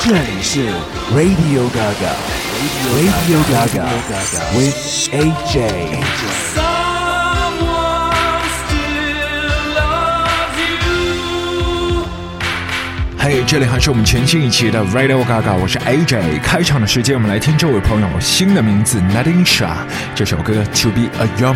这里是 Radio Gaga Radio Gaga with AJ。Someone still loves you。 嘿，这里还是我们全新一期的 Radio Gaga， 我是 AJ。开场的时间，我们来听这位朋友新的名字 Nadine Shah， 这首歌 To Be a Young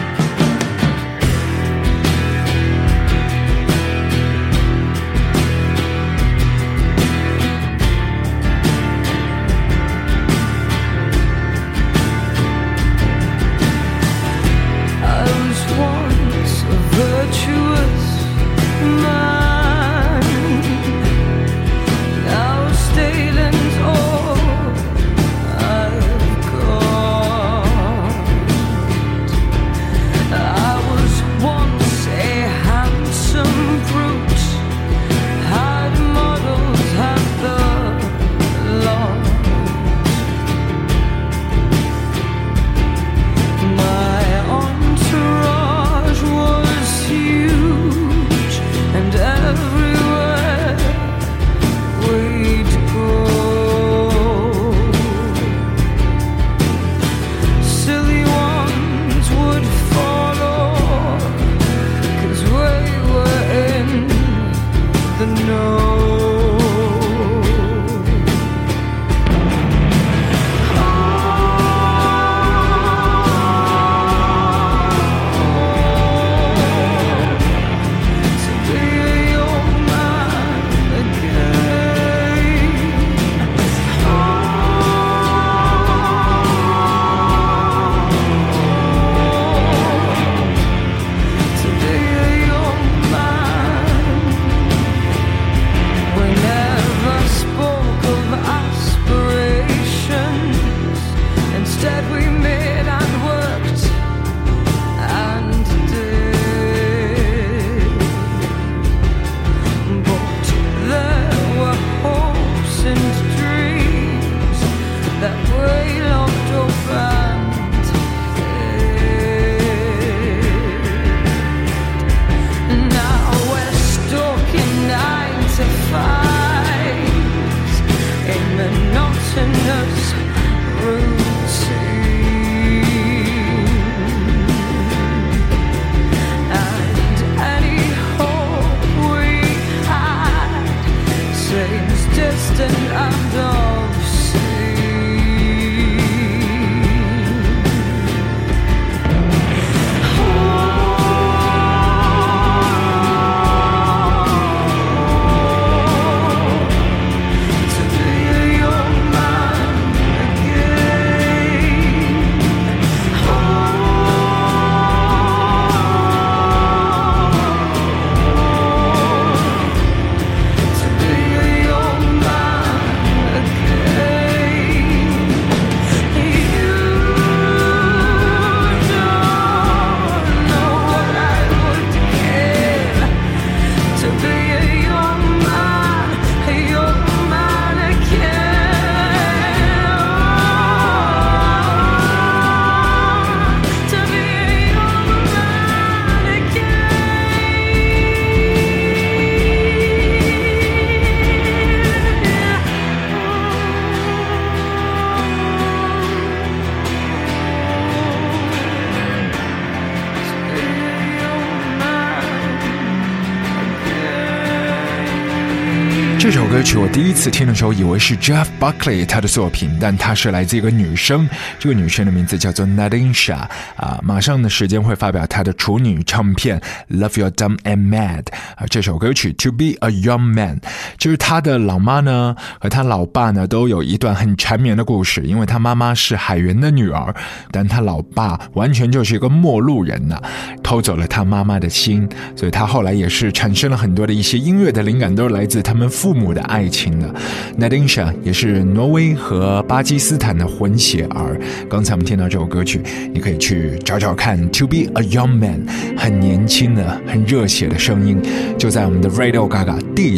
man。这首歌曲我第一次听的时候以为是 Jeff Buckley 他的作品，但他是来自一个女生，这个女生的名字叫做 Nadine Shah 马上的时间会发表她的处女唱片 Love You're Dumb and Mad 这首歌曲 To Be a Young Man， 就是他的老妈呢和他老爸呢都有一段很缠绵的故事，因为他妈妈是海员的女儿，但他老爸完全就是一个陌路人偷走了他妈妈的心，所以他后来也是产生了很多的一些音乐的灵感都是来自他们父母的爱情的。 Nadine Shah 也是挪威和巴基斯坦的混血儿，刚才我们听到这首歌曲你可以去找找看 To Be a Young Man， 很年轻的很热血的声音，就在我们的 Radio Gaga 第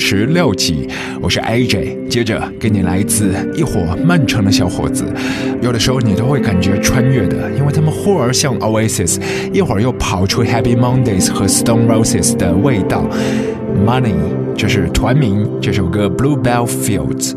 36集。我是 AJ， 接着给你来自一伙曼城的小伙子，有的时候你都会感觉穿越的，因为他们忽而像 Oasis， 一会儿又跑出 Happy Mondays 和 Stone Roses 的味道。 Money 这是团名，这首歌 Bluebell Fields。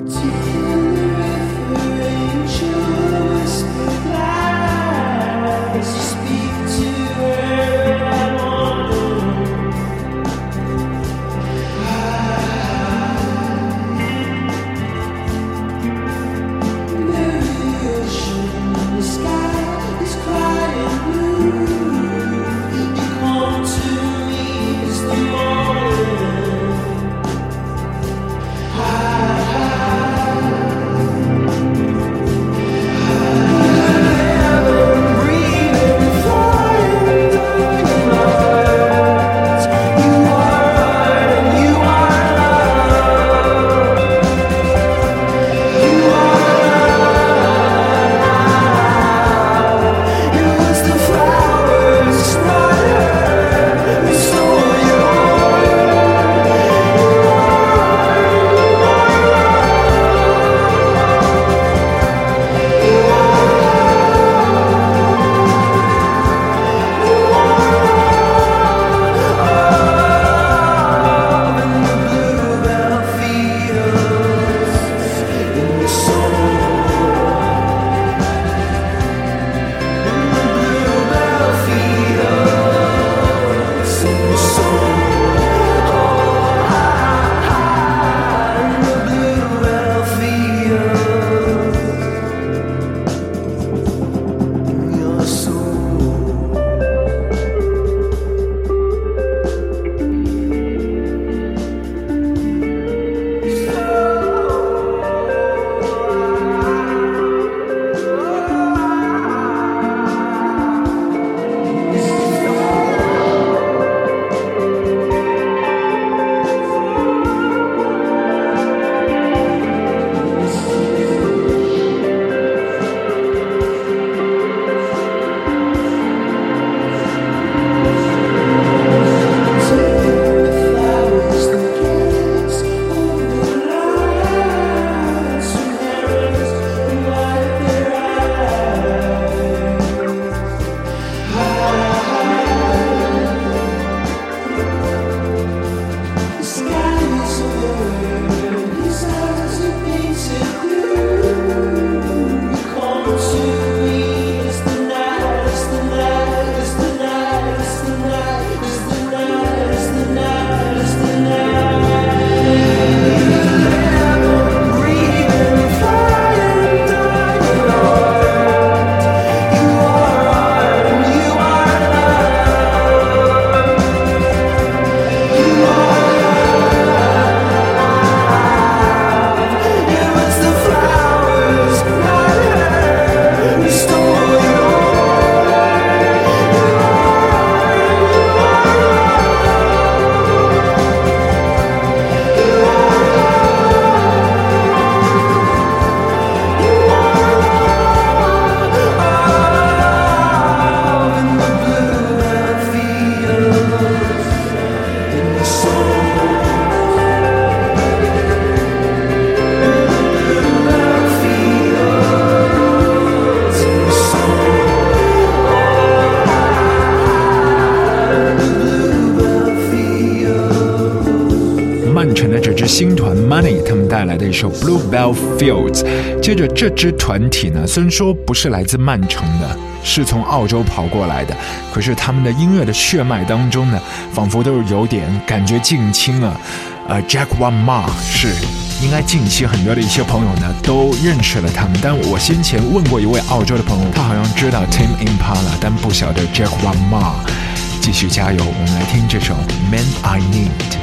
新团 Money 他们带来的一首 Bluebell Fields。 接着这支团体呢，虽然说不是来自曼城的，是从澳洲跑过来的，可是他们的音乐的血脉当中呢，仿佛都是有点感觉近亲啊。Jack One Ma 是应该近期很多的一些朋友呢都认识了他们，但我先前问过一位澳洲的朋友，他好像知道 Tame Impala， 但不晓得 Jack One Ma。 继续加油，我们来听这首 Man I Need。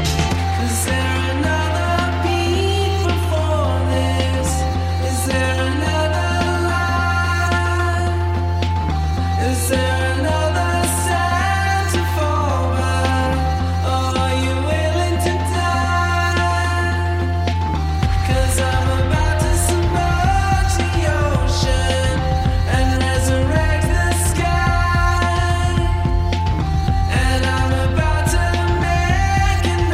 And I'm about to make an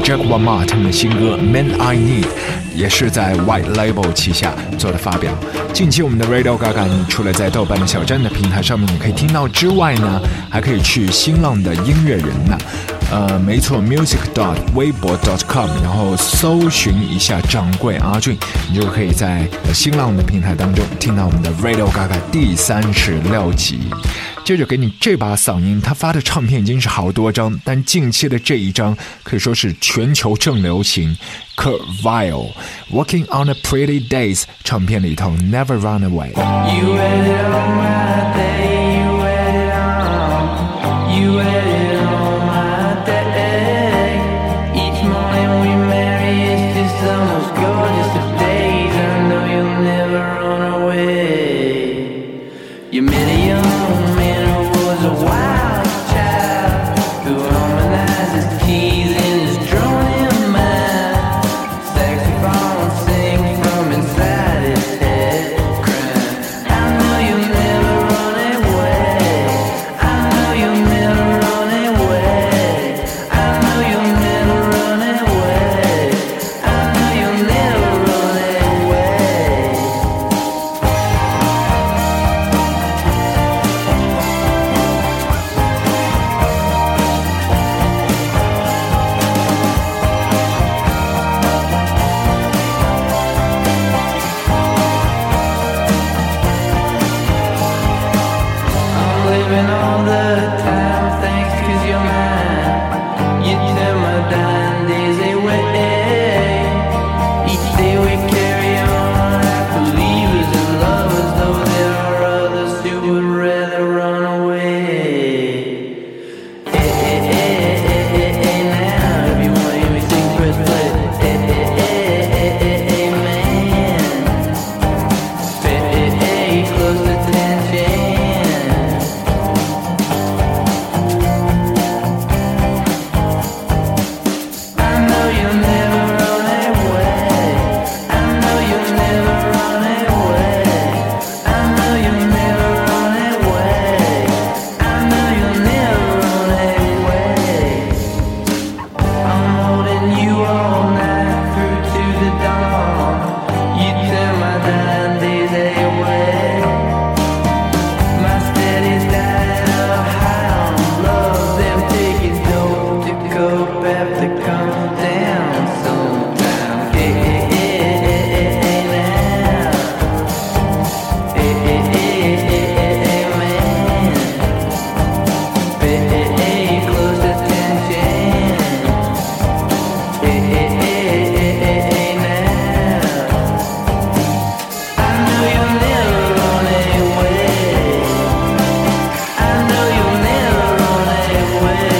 Jack Wama 他们的新歌 Man I Need 也是在 White Label 旗下做了发表。近期我们的 Radio Gaga 你除了在豆瓣的小站的平台上面你可以听到之外呢，还可以去新浪的音乐人呢，没错 music.weibo.com 然后搜寻一下掌柜阿俊，你就可以在新浪的平台当中听到我们的 Radio Gaga 第36集。接着给你这把嗓音，他发的唱片已经是好多张，但近期的这一张可以说是全球正流行。Kurt Vile Walking on a Pretty Days 唱片里头 Never Run Away。 You waited on my day, you waited on, you waited on my day. Each morning we marry, it's just the most gorgeous of days. I know you'll never run away. You met a young man who was a wild child, who harmonized his keys in his droning mind. Saxophone sing from inside his head, crying, I know you'll never run away. I know you'll never run away. I know you'll never run away. I know you'll never run away. I'm living all the time, thanks 'cause you're mine. You turn my dying days away. Each day we carry on like believers and lovers, though there are others who would rather run away. Hey, hey, hey, hey, hey, hey, now if you want to hear me sing, press play. Hey, hey, hey, hey, hey, hey, man. Hey, hey, hey, close attention. I know you'll never run away. I know you'll never run away. I know you'll never run away. I know you'll never run away. I'm holding you all night through to the dawn. You turn my dying days away. My steady diet of high on love, them taking dope to cope have to come down sometime. Hey, hey, hey, hey, hey, hey, now. Hey, hey, hey, hey, hey, hey, man. Hey, hey, hey, close attention. Hey, hey, hey, hey, hey, hey, now. I know you'll never run away. I know you'll never run away.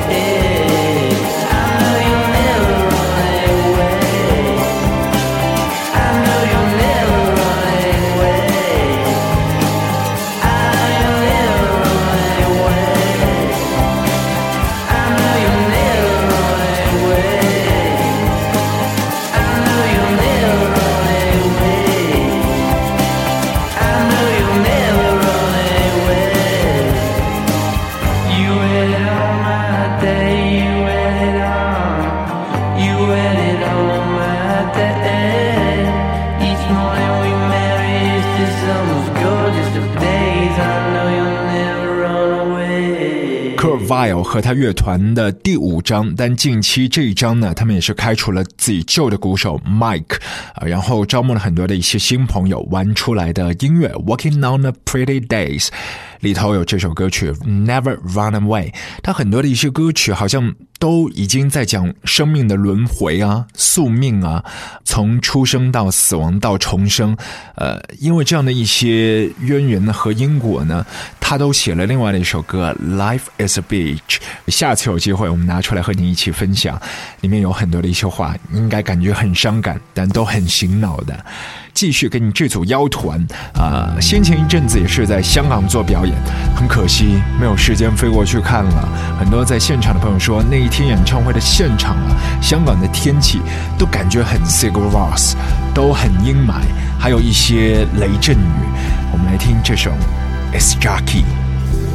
I know you'll never run away. I know you'll never run away. I know you'll never run away. I know you'll never run away. I know you'll never run away. I know you'll never run away. You waited on my day, you waited on, you waited on my day. Each morning we marry, it's just the most gorgeous of days. I know you'll never run away. Kurt Vile 和他乐团的第5张，但近期这一张呢，他们也是开除了自己旧的鼓手 Mike，然后招募了很多的一些新朋友玩出来的音乐 Walking on a Pretty Days 里头有这首歌曲 Never Run Away。 他很多的一些歌曲好像都已经在讲生命的轮回啊，宿命啊，从出生到死亡到重生，因为这样的一些渊源和因果呢，他都写了另外的一首歌 Life is a Beach。 下次有机会我们拿出来和你一起分享，里面有很多的一些话，应该感觉很伤感，但都很醒脑的。继续给你这组妖团先前一阵子也是在香港做表演，很可惜没有时间飞过去看了。很多在现场的朋友说，那一天演唱会的现场香港的天气都感觉很 Sigur Rós， 都很阴霾，还有一些雷阵雨。我们来听这首 It's Jackie。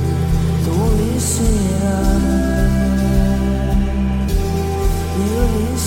Don't listen, you listen.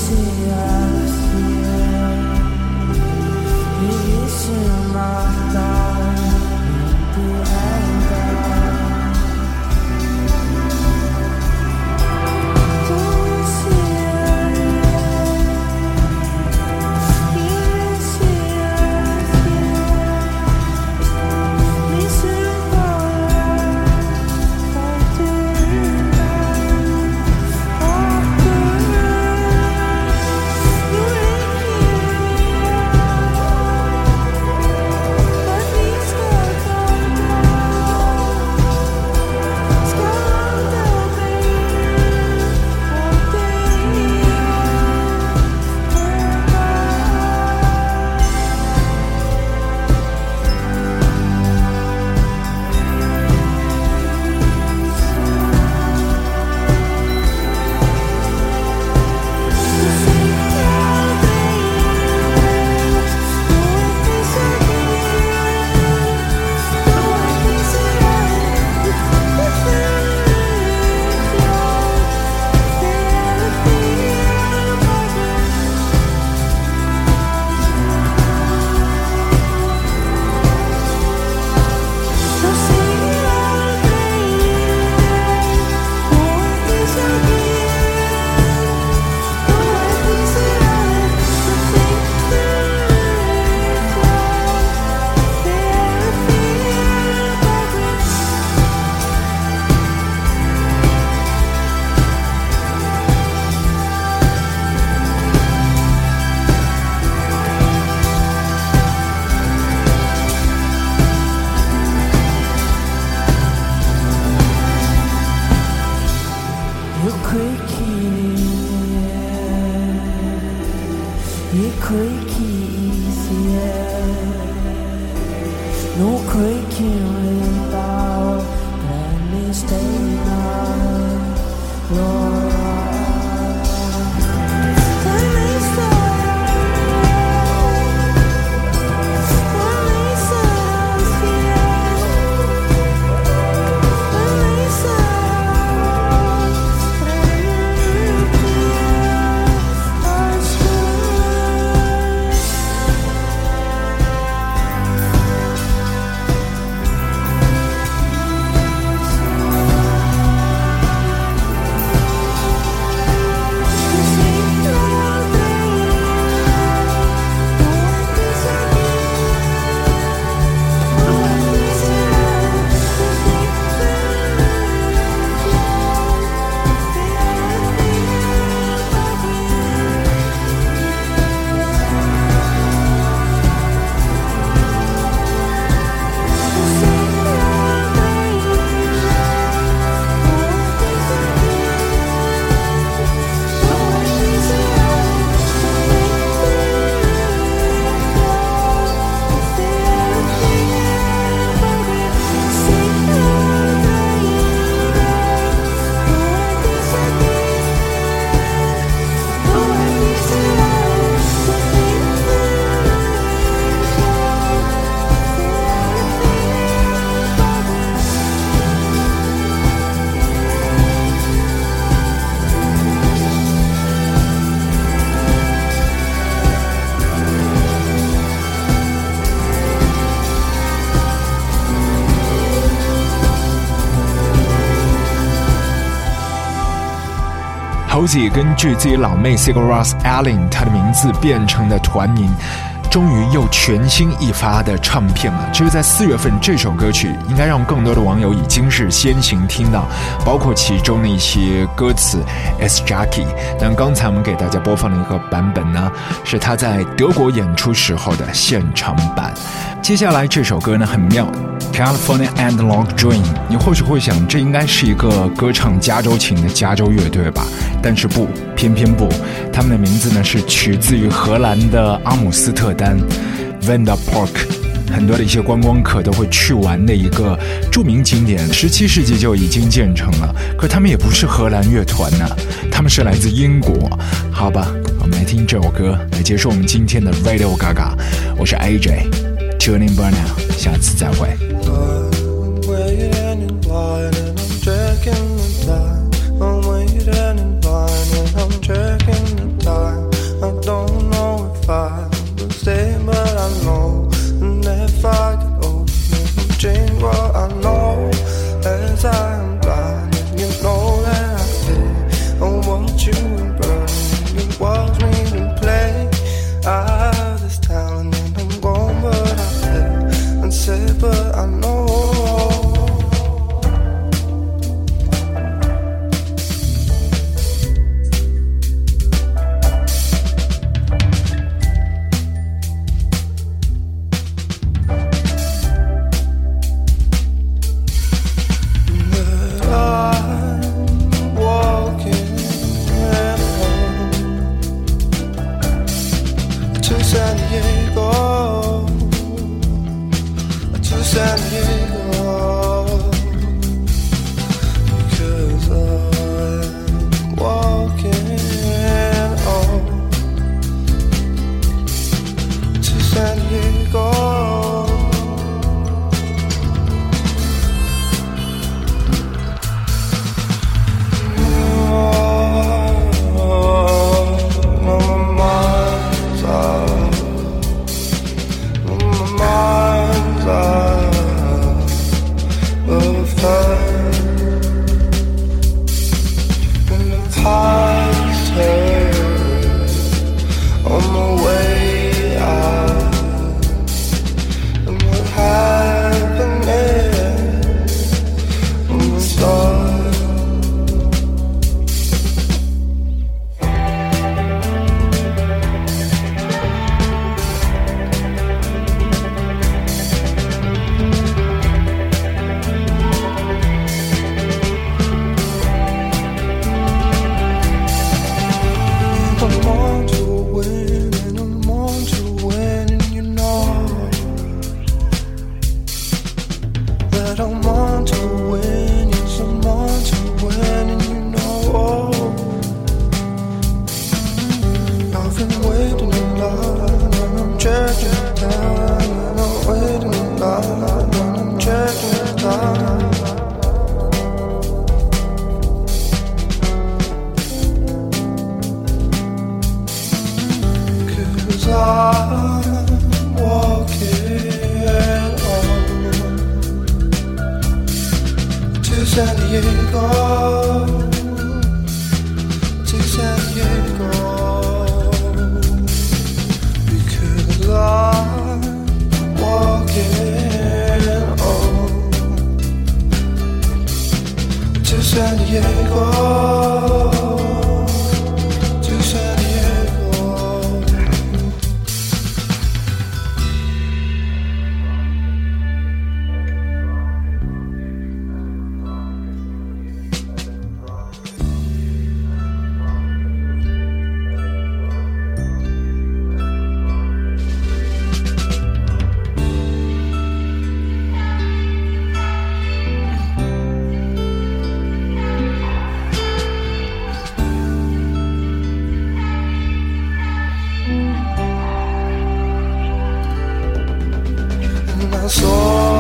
No quaking without any staying on your Halsey 根据自己老妹 Sigur Rós Ellin 她的名字变成的团名，终于又全新一发的唱片了。就是在4月份，这首歌曲应该让更多的网友已经是先行听到，包括其中的一些歌词 S Jackie。但刚才我们给大家播放的一个版本呢，是他在德国演出时候的现场版。接下来这首歌呢很妙， California Analog Dream。 你或许会想，这应该是一个歌唱加州琴的加州乐队吧？但是不，偏偏不，他们的名字呢是取自于荷兰的阿姆斯特丹 Vanda Park， 很多的一些观光客都会去玩的一个著名景点，17世纪就已经建成了。可他们也不是荷兰乐团呢，他们是来自英国。好吧，我们来听这首歌来结束我们今天的 Radio Gaga。 我是 AJ Tune in Burnout， 下次再会。 I don't know if I will stay, but I know Diego. San Diego, to San Diego, because I'm walking on to San Diego, to San Diego. I saw